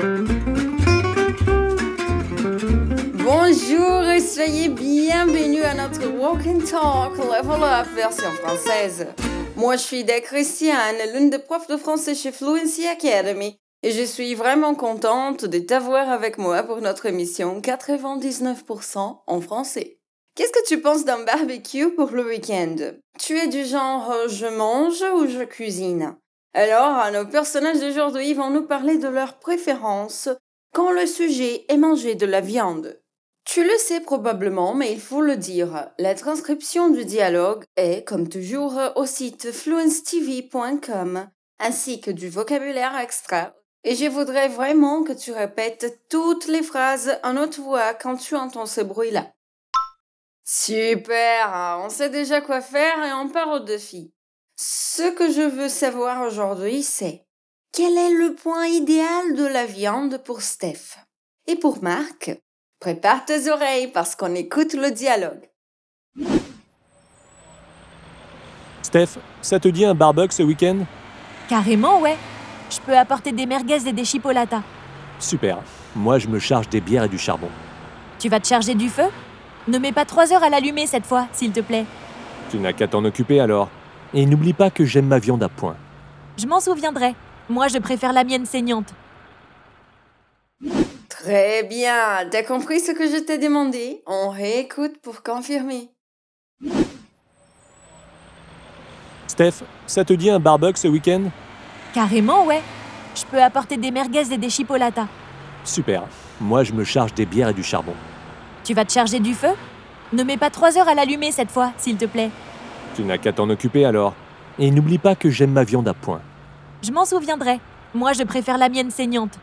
Bonjour et soyez bienvenus à notre Walk and Talk Level Up version française. Moi, je suis Ida Christiane, l'une des profs de français chez Fluency Academy, et je suis vraiment contente de t'avoir avec moi pour notre émission 99% en français. Qu'est-ce que tu penses d'un barbecue pour le week-end? Tu es du genre je mange ou je cuisine? Alors, nos personnages d'aujourd'hui vont nous parler de leurs préférences quand le sujet est manger de la viande. Tu le sais probablement, mais il faut le dire. La transcription du dialogue est, comme toujours, au site fluencetv.com, ainsi que du vocabulaire extra. Et je voudrais vraiment que tu répètes toutes les phrases en haute voix quand tu entends ce bruit-là. Super, on sait déjà quoi faire et on part au défi. Ce que je veux savoir aujourd'hui, c'est quel est le point idéal de la viande pour Steph? Et pour Marc, prépare tes oreilles parce qu'on écoute le dialogue. Steph, ça te dit un barbecue ce week-end? Carrément, ouais. Je peux apporter des merguez et des chipolatas. Super. Moi, je me charge des bières et du charbon. Tu vas te charger du feu? Ne mets pas 3 heures à l'allumer cette fois, s'il te plaît. Tu n'as qu'à t'en occuper alors. Et n'oublie pas que j'aime ma viande à point. Je m'en souviendrai. Moi, je préfère la mienne saignante. Très bien, t'as compris ce que je t'ai demandé? On réécoute pour confirmer. Steph, ça te dit un barbecue ce week-end? Carrément, ouais. Je peux apporter des merguez et des chipolatas. Super. Moi, je me charge des bières et du charbon. Tu vas te charger du feu? Ne mets pas 3 heures à l'allumer cette fois, s'il te plaît. Tu n'as qu'à t'en occuper alors. Et n'oublie pas que j'aime ma viande à point. Je m'en souviendrai. Moi, je préfère la mienne saignante.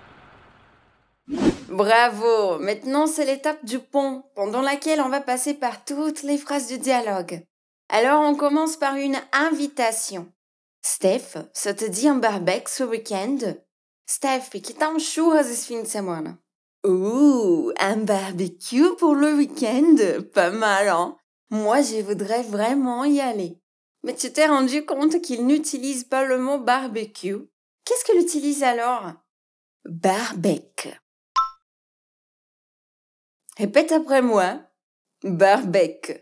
Bravo! Maintenant, c'est l'étape du pont, pendant laquelle on va passer par toutes les phrases du dialogue. Alors, on commence par une invitation. Steph, ça te dit un barbecue ce week-end? Steph, que tal churras esse fim de semana? Un barbecue pour le week-end? Pas mal, hein? Moi, je voudrais vraiment y aller. Mais tu t'es rendu compte qu'il n'utilise pas le mot barbecue? Qu'est-ce qu'il utilise alors? Barbecue. Répète après moi. Barbecue.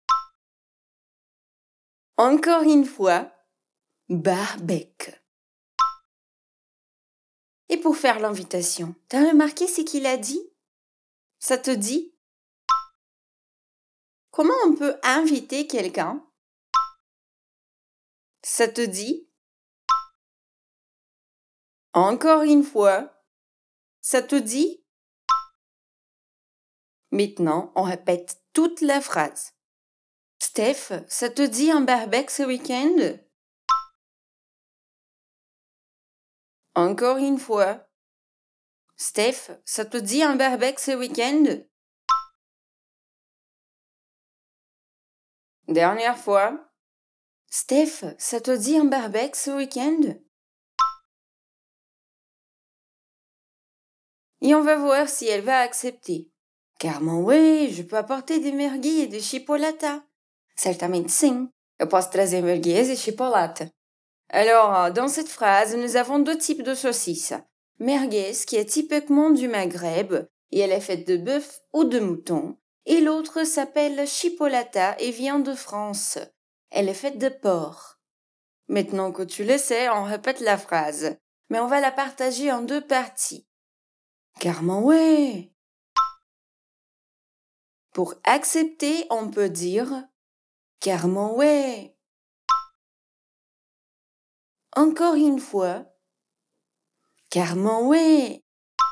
Encore une fois. Barbecue. Et pour faire l'invitation, t'as remarqué ce qu'il a dit? Ça te dit? Comment on peut inviter quelqu'un? Ça te dit? Encore une fois. Ça te dit? Maintenant, on répète toute la phrase. Steph, ça te dit un barbecue ce week-end? Encore une fois. Steph, ça te dit un barbecue ce week-end? Dernière fois. Steph, ça te dit un barbecue ce week-end? Et on va voir si elle va accepter. Carrément, oui, je peux apporter des merguez et des chipolatas. Certamente sim, eu posso trazer merguez et chipolata. Alors, dans cette phrase, nous avons 2 types de saucisses. Merguez, qui est typiquement du Maghreb, et elle est faite de bœuf ou de mouton. Et l'autre s'appelle chipolata et vient de France. Elle est faite de porc. Maintenant que tu le sais, on répète la phrase. Mais on va la partager en 2 parties. Carrément, ouais. Pour accepter, on peut dire carrément, ouais. Encore une fois. Carrément, ouais.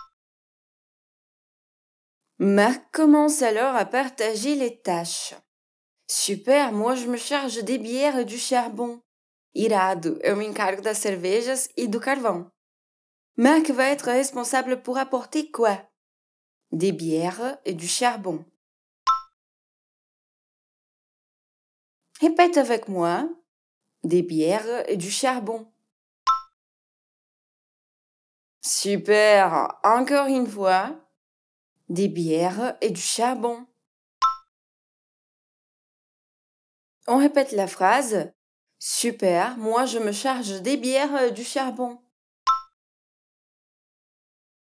Marc commence alors à partager les tâches. Super, moi je me charge des bières et du charbon. Irado, eu me encargo das cervejas e do carvão. Marc va être responsable pour apporter quoi? Des bières et du charbon. Répète avec moi. Des bières et du charbon. Super, encore une fois. Des bières et du charbon. On répète la phrase. Super, moi je me charge des bières et du charbon.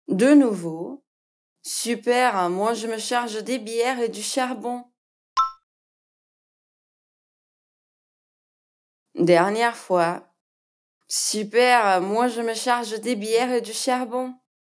De nouveau. Super, moi je me charge des bières et du charbon. Dernière fois. Super, moi je me charge des bières et du charbon.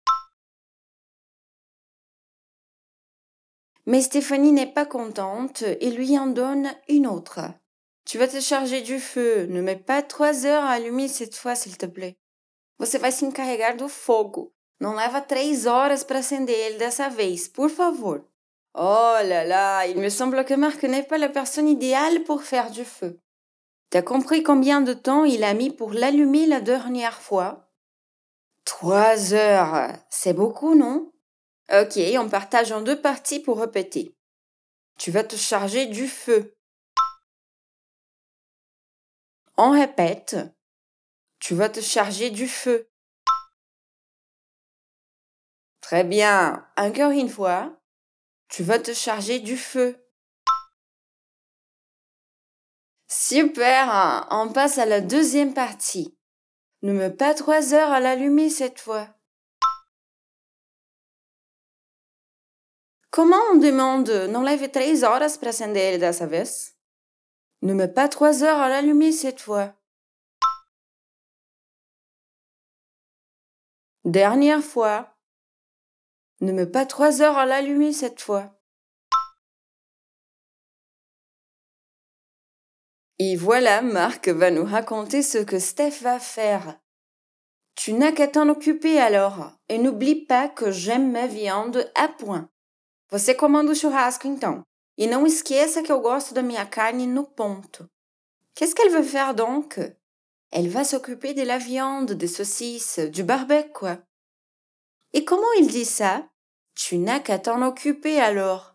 Mais Stéphanie n'est pas contente et lui en donne une autre. Tu vas te charger du feu, ne mets pas 3 heures à allumer cette fois, s'il te plaît. Você vai se encarregar do fogo. Não leva 3 horas para acender ele dessa vez, por favor. Oh là là, il me semble que Marc n'est pas la personne idéale pour faire du feu. T'as compris combien de temps il a mis pour l'allumer la dernière fois? 3 heures, c'est beaucoup, non? Ok, on partage en 2 parties pour répéter. Tu vas te charger du feu. On répète. Tu vas te charger du feu. Très bien. Encore une fois. Tu vas te charger du feu. Super. On passe à la deuxième partie. Ne mets pas 3 heures à l'allumer cette fois. Comment on demande não leve 3 horas para acender ele dessa vez? Ne mets pas 3 heures à l'allumer cette fois. Dernière fois. Ne mets pas 3 heures à l'allumer cette fois. Et voilà, Marc va nous raconter ce que Steph va faire. Tu n'as qu'à t'en occuper alors. Et n'oublie pas que j'aime ma viande à point. Você comanda o churrasco então. E não esqueça que eu gosto da minha carne no ponto. Qu'est-ce qu'elle veut faire donc? Elle va s'occuper de la viande, des saucisses, du barbecue quoi. Et comment il dit ça? Tu n'as qu'à t'en occuper alors.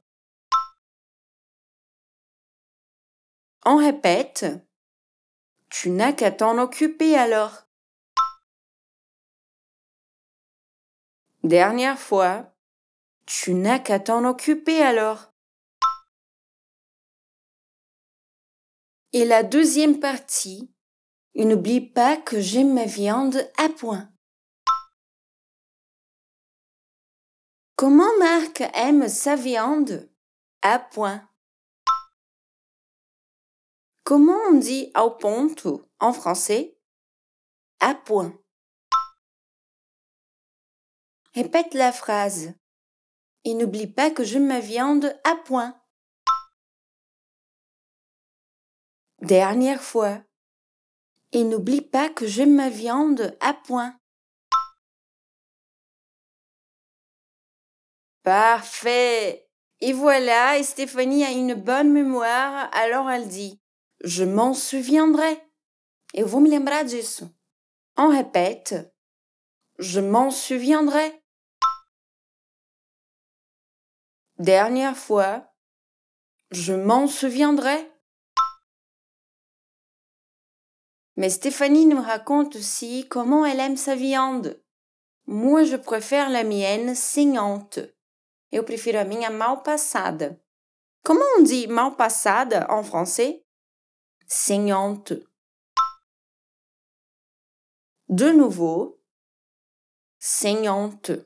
On répète. Tu n'as qu'à t'en occuper alors. Dernière fois. Tu n'as qu'à t'en occuper alors. Et la deuxième partie. Et n'oublie pas que j'aime ma viande à point. Comment Marc aime sa viande? À point. Comment on dit ao ponto en français? À point. Répète la phrase. Et n'oublie pas que j'aime ma viande à point. Dernière fois. Et n'oublie pas que j'aime ma viande à point. Parfait. Et voilà, et Stéphanie a une bonne mémoire, alors elle dit « Je m'en souviendrai ». Eu vou me lembrar disso. On répète « Je m'en souviendrai ». Dernière fois « Je m'en souviendrai ». Mais Stéphanie nous raconte aussi comment elle aime sa viande. Moi, je préfère la mienne saignante. Eu prefiro a minha mal passada. Comment on dit mal passada en français? Saignante. De nouveau. Saignante.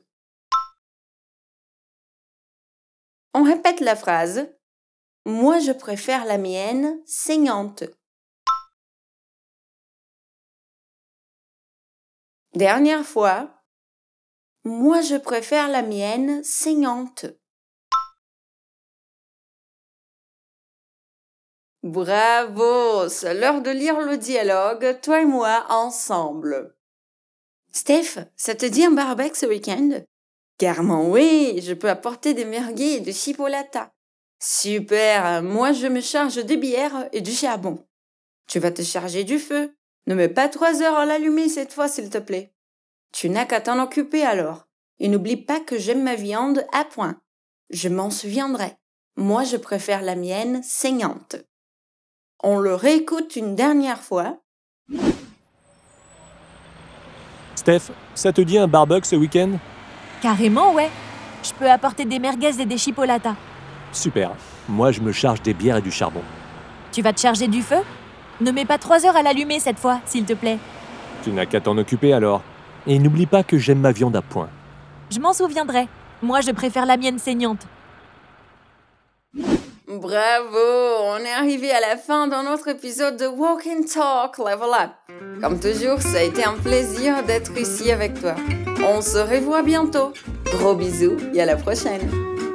On répète la phrase. Moi, je préfère la mienne saignante. Dernière fois. Moi, je préfère la mienne saignante. Bravo! C'est l'heure de lire le dialogue, toi et moi, ensemble. Steph, ça te dit un barbecue ce week-end? Carrément oui, je peux apporter des merguez et de chipolata. Super, moi je me charge des bières et du charbon. Tu vas te charger du feu. Ne mets pas 3 heures à l'allumer cette fois, s'il te plaît. Tu n'as qu'à t'en occuper alors. Et n'oublie pas que j'aime ma viande à point. Je m'en souviendrai. Moi, je préfère la mienne saignante. On le réécoute une dernière fois. Steph, ça te dit un barbecue ce week-end? Carrément, ouais. Je peux apporter des merguez et des chipolatas. Super. Moi, je me charge des bières et du charbon. Tu vas te charger du feu? Ne mets pas 3 heures à l'allumer cette fois, s'il te plaît. Tu n'as qu'à t'en occuper alors. Et n'oublie pas que j'aime ma viande à point. Je m'en souviendrai. Moi, je préfère la mienne saignante. Bravo, on est arrivé à la fin de notre épisode de Walk and Talk Level Up. Comme toujours, ça a été un plaisir d'être ici avec toi. On se revoit bientôt. Gros bisous et à la prochaine.